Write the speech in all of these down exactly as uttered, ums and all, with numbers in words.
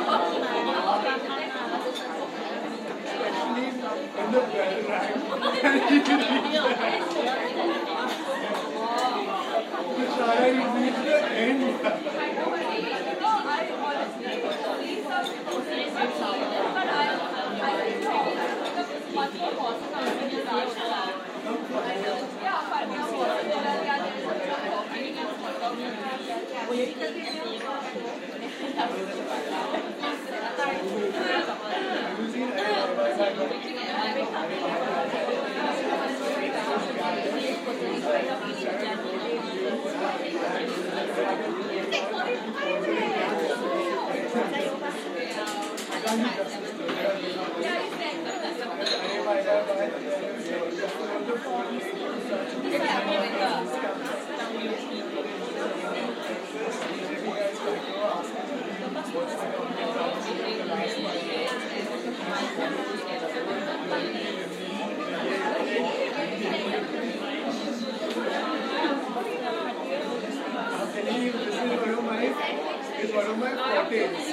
the bell rang, and he reached the Shara, he reached the end. It's one of my fortes.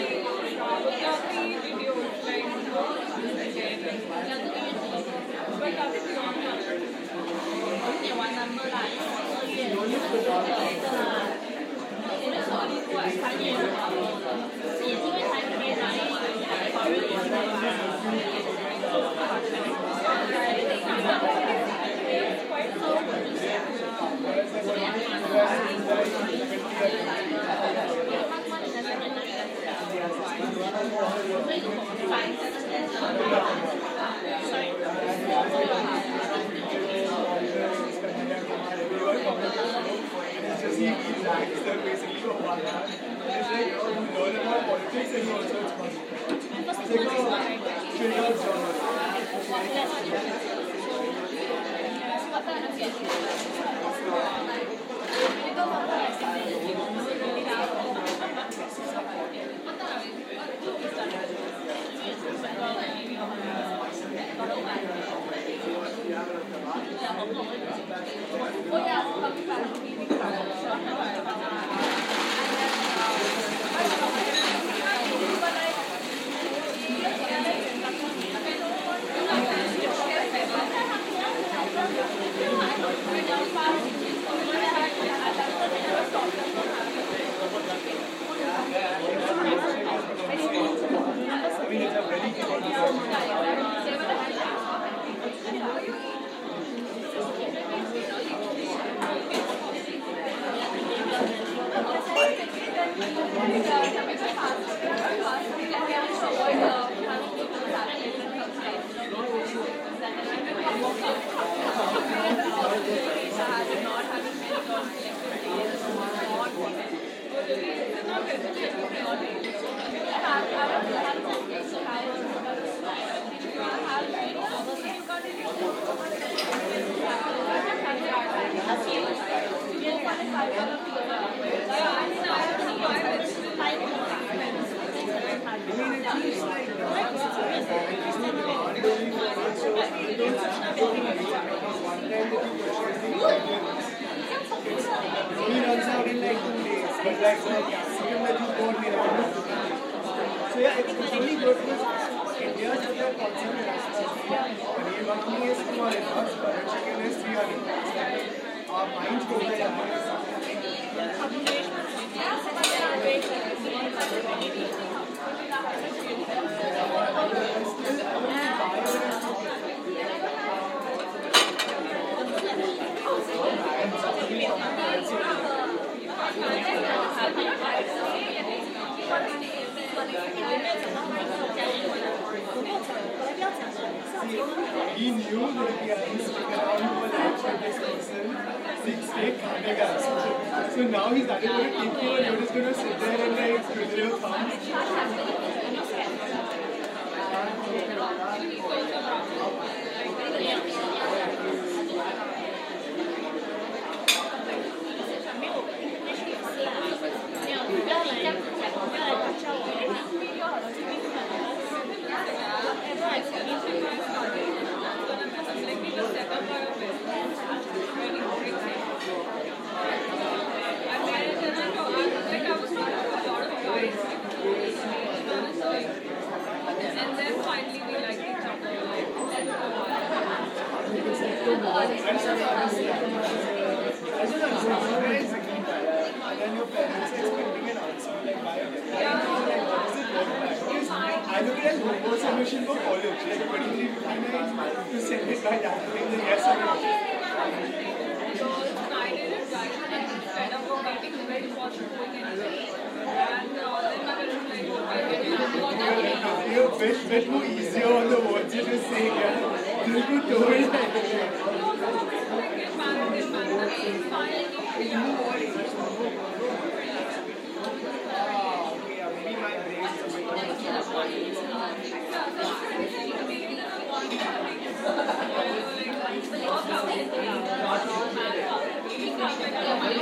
He knew that he had to stick around for lunch with this person, six steak khane. So now he's either going to take you or you're just going to sit there and like twiddle your thumbs. parents expecting an answer like why are they like, what does it look like? Because I look at it as homework submission for college, like twenty-three fifty-nine to send it by that way, the yes or no. So I did it, guys, and fed up of getting very positive going anyway. And uh, then my parents were like, okay, can you You're a bit, bit more easier on the words you're just saying, yeah. This could do it. No, some of it is like get married, get married. That's it's fine, like you figure out what it is. Ah, okay, yeah, maybe my brain is a bit more Yeah, so I think in the beginning I wanted to like, you know, like, work out in the marriage out. We come like a lot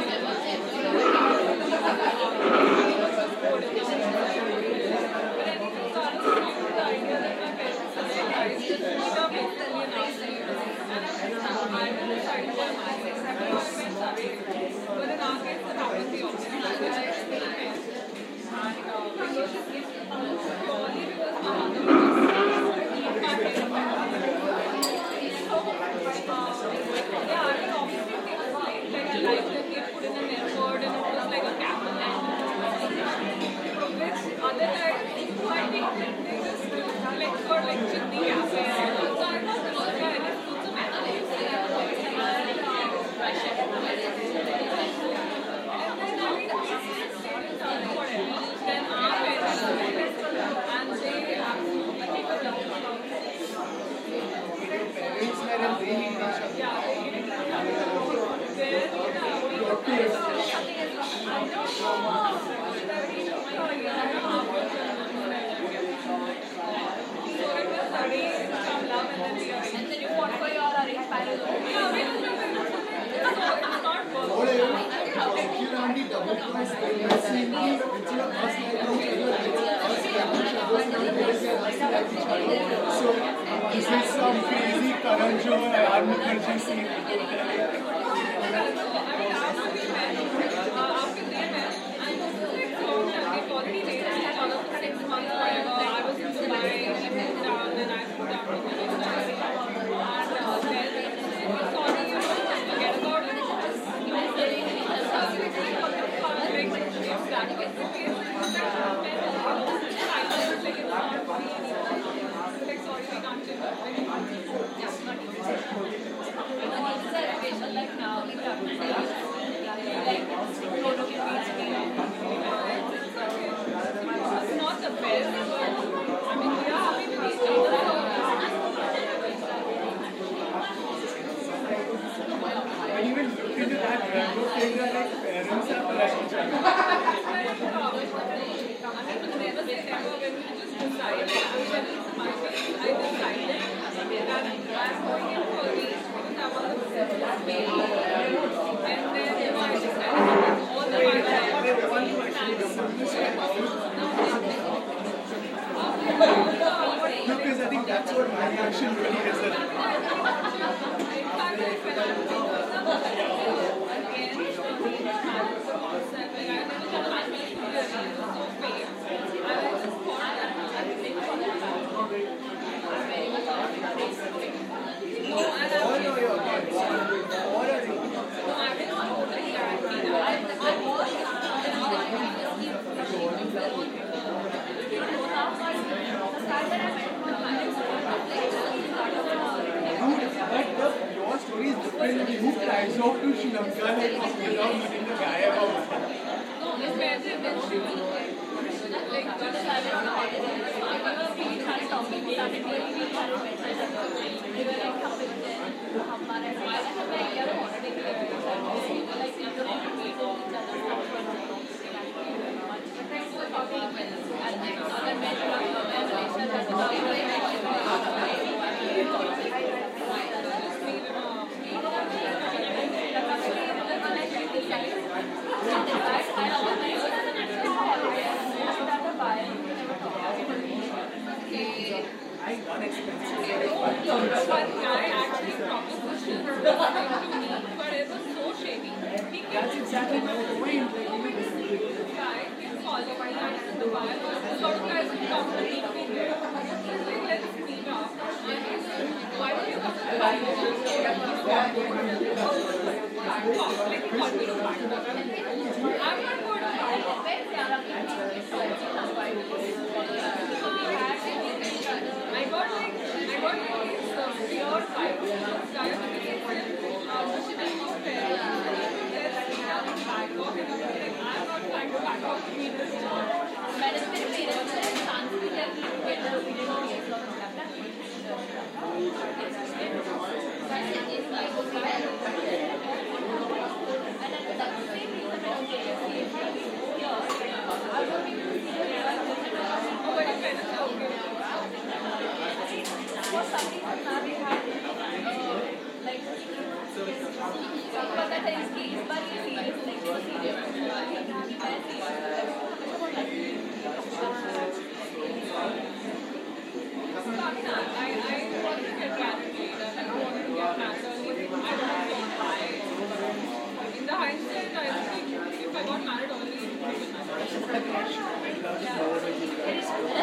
That's exactly my point. Like,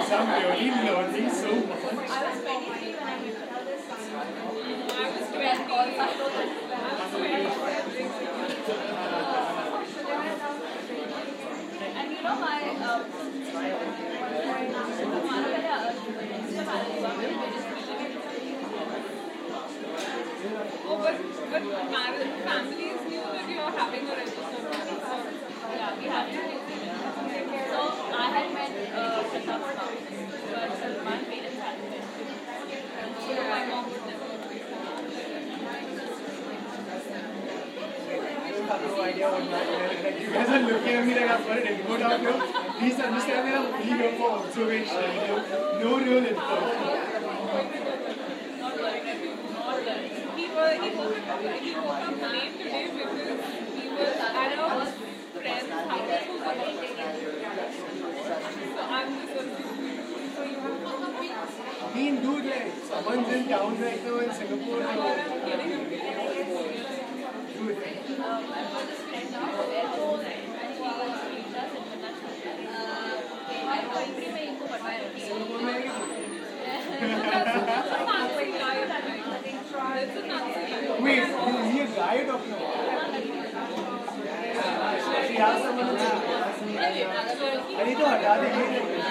guys, I'm really learning so much. I was twenty-three when I moved to this. I was twenty. I was twenty. And you know my um, oh, but but marriage families knew that you were having a registered marriage. So yeah, we had to. So I had met uh, Pratap's mom, but Salman parents hadn't met. So my mom would never. I have no idea what my like you guys are looking at me like I've got an input out here. Please understand that I'm only here for observation. No real input. Not learning everything. Not learning. He was he woke up he woke up late today because he was at a friend's house who was taking. So I'm just confused. So you have to come with us. I mean, dude, like someone's in town right now in Singapore. I'm kidding. Dude. Um, I was just friend of theirs and she meets us internationally. मैं कोई में इनको बताया Singapore में ही Wait, is he a guy or talking about? She has someone to I need to hटा देंगे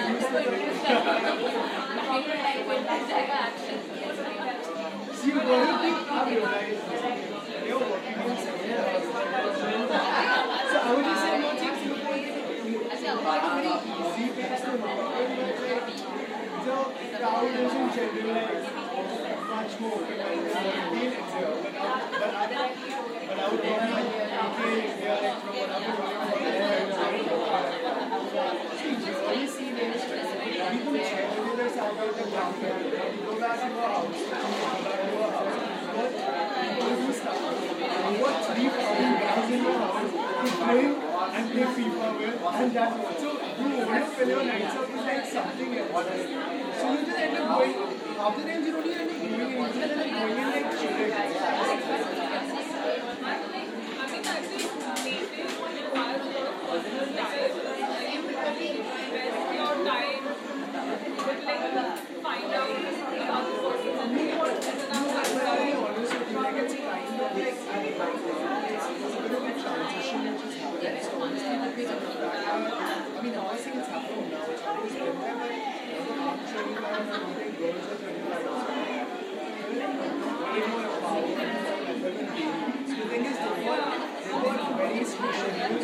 See, you got to think, I realize you're working in Singapore. So I would just say no take Singapore. See, it's the the crowd is in general like much more quarantine it's here. But I but I but I would probably okay they are like from another see generally see people check whether there's something the ground go back to your house go back to your house but people do stuff what three thousand guys in your house to play and play FIFA with and that's so you want to fill your nights out with like something else. So you just end up going, half the times you don't even end up going in, you just end up going in like chilling. Find out about the person and You want to be honest with you, like it's kind of like it's a bit of a transition which is happening. So honestly, because of that, I mean, I think it's happening now. It's always been there, but I'm twenty-five and I'm meeting girls at twenty-five. Way more power and better than babies. So the thing is, they've got, they've got very strict schedules.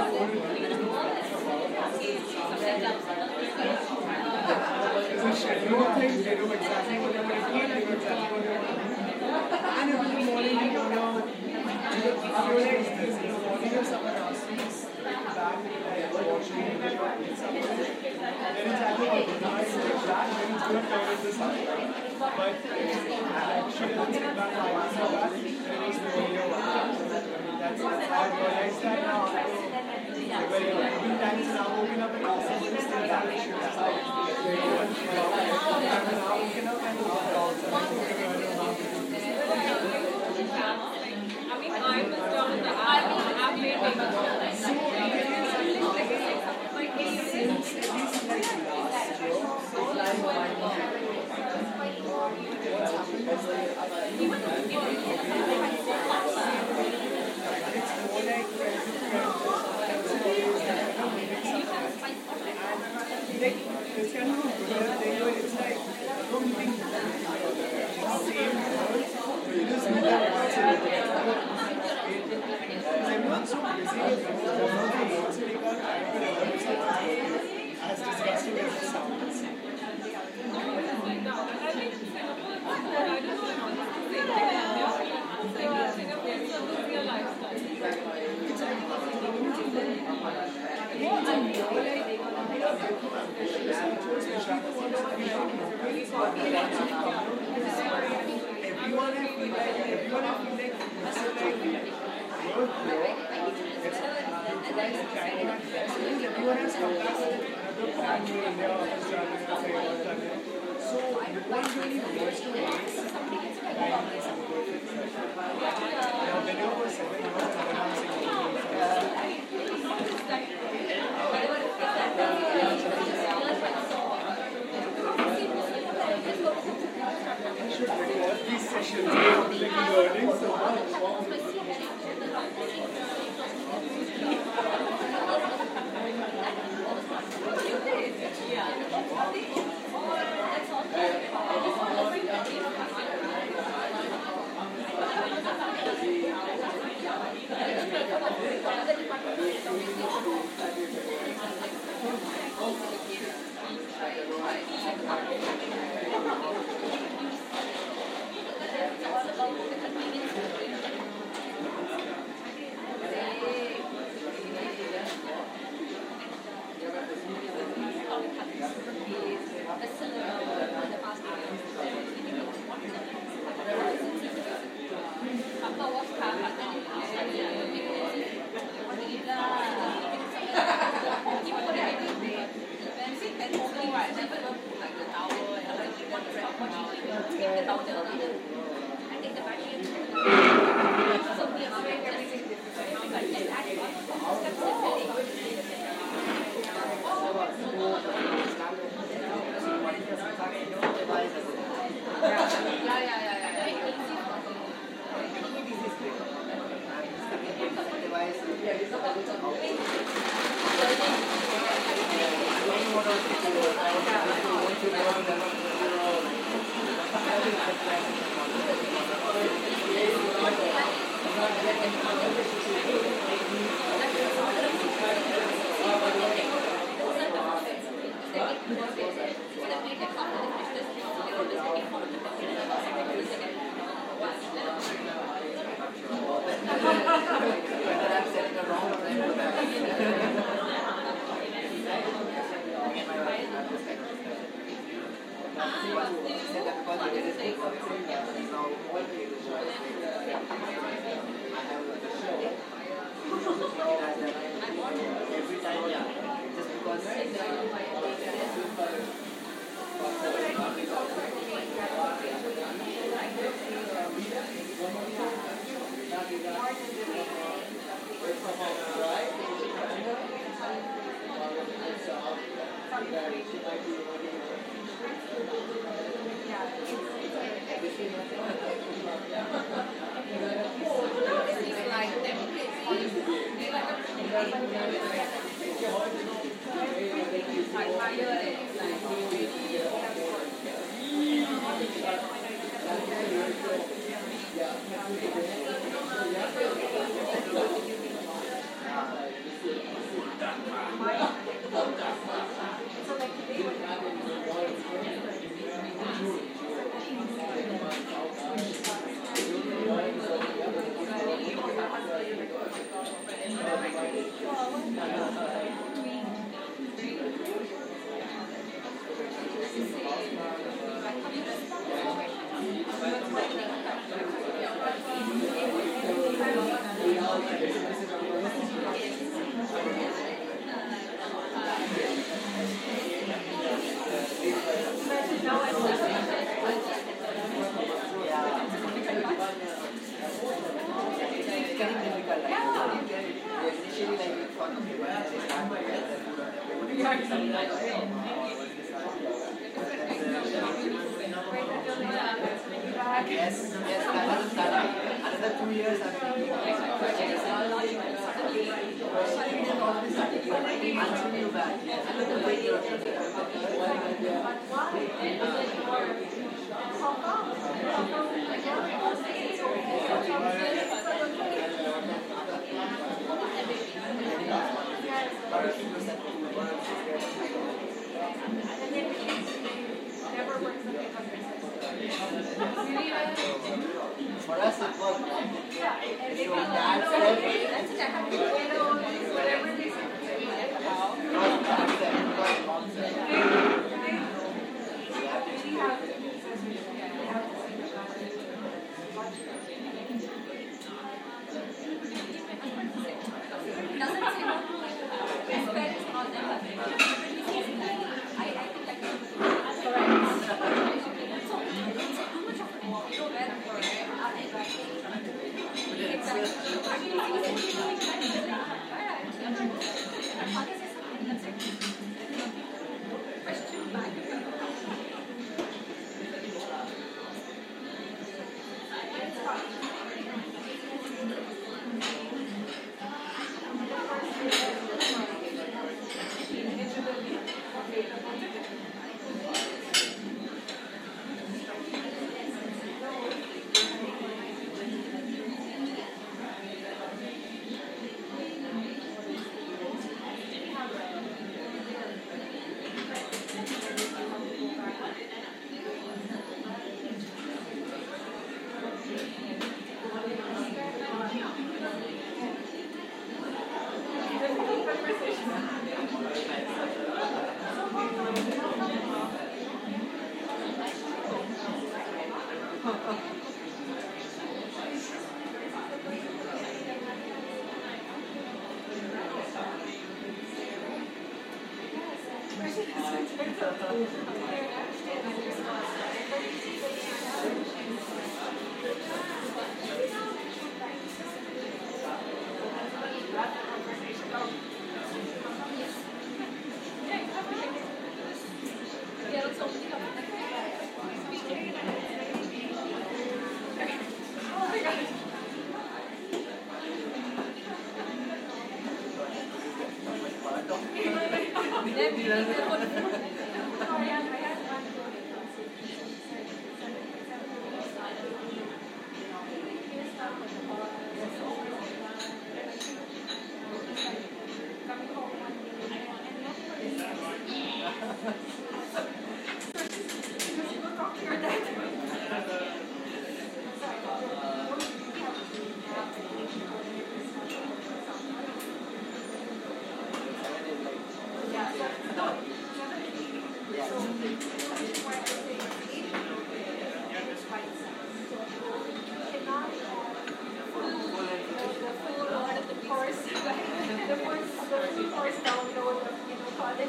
There's a schedule thing, they know exactly what they're going to eat, they know exactly what they're going to do. And if in the morning you go down, you feel like this, in the morning if someone asks you, back, like, washing, and then it's exactly what you know, it's like that, then it's going to turn into something. But like, she doesn't sit back, I answer back, then it's no idea what happens. That's I've realized that now. When even times now woken up and someone is still back, she was like, very much wrong. I'm now woken up and I mean, I was done the I have made it. so since at least like last year, what's happened is like it's more like friends with friends. Like, it's kind of a weird thing where it's like, I don't think the same word, but you just meet them once in a while. Because everyone's so busy with everyone's so work, so they can't time for everyone to work, as disgusting as it sounds. Everyone I feel like, everyone I feel like, so like, you're here, it's like the kind of best, because everyone has come back with another plan to India, Australia, Australia. So no one really wants to waste time in Singapore. Now, when you were seven years and then I'm Singapore.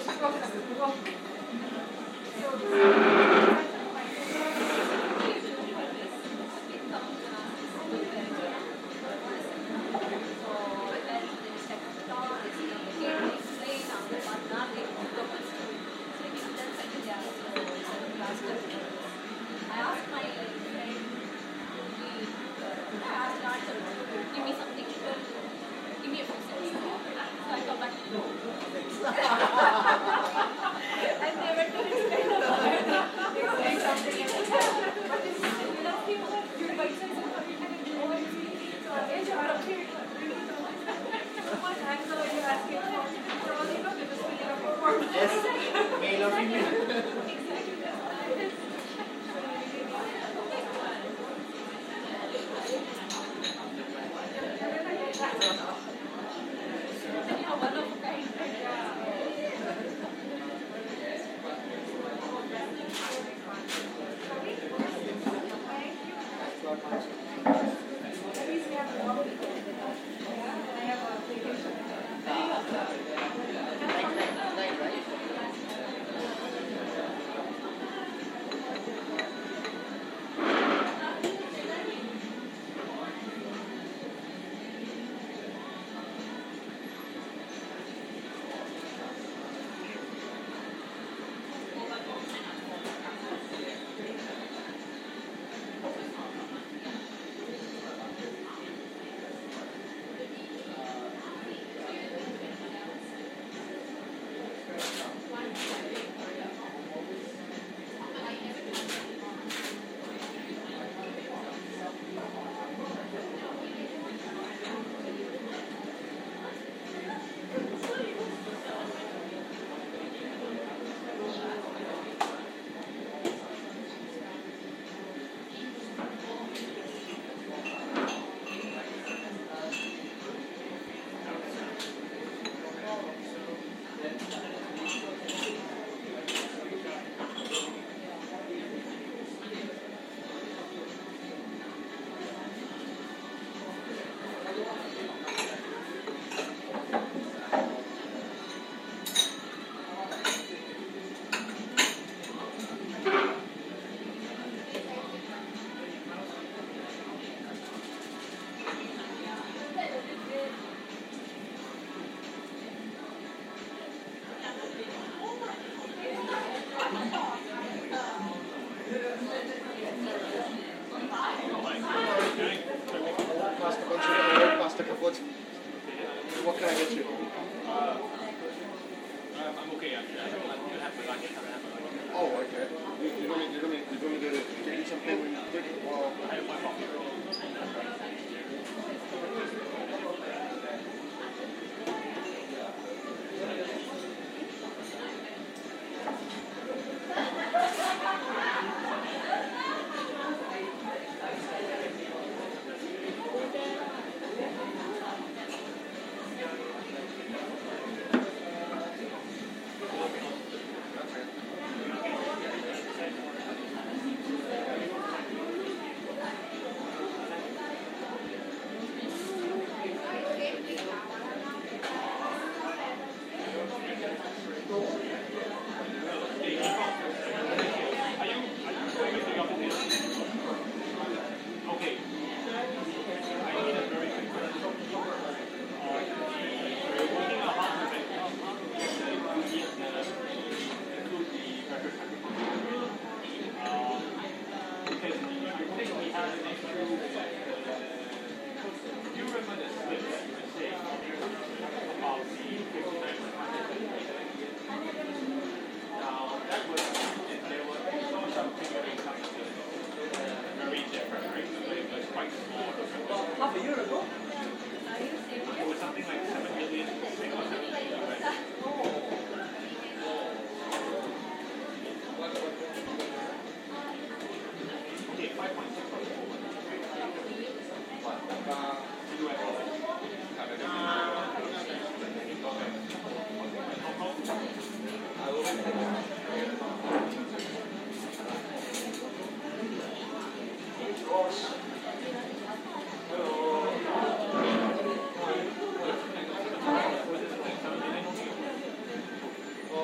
Well,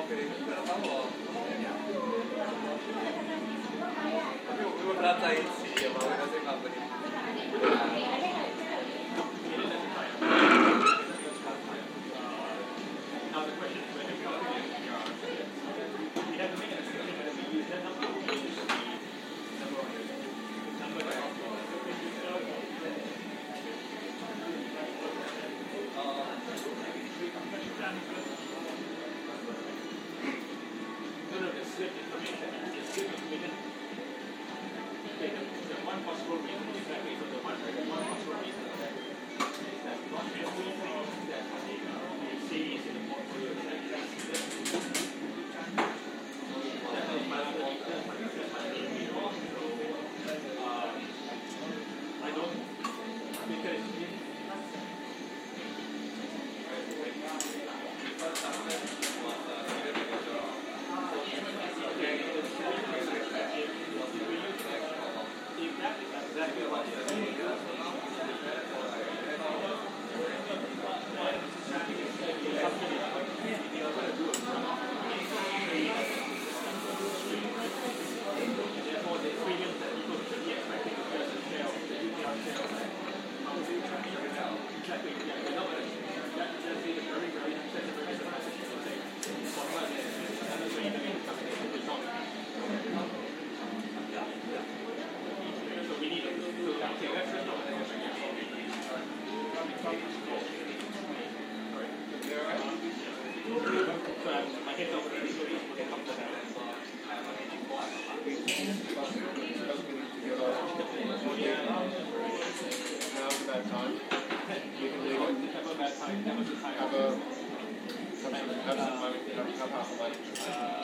Have a have some have some have half a lunch.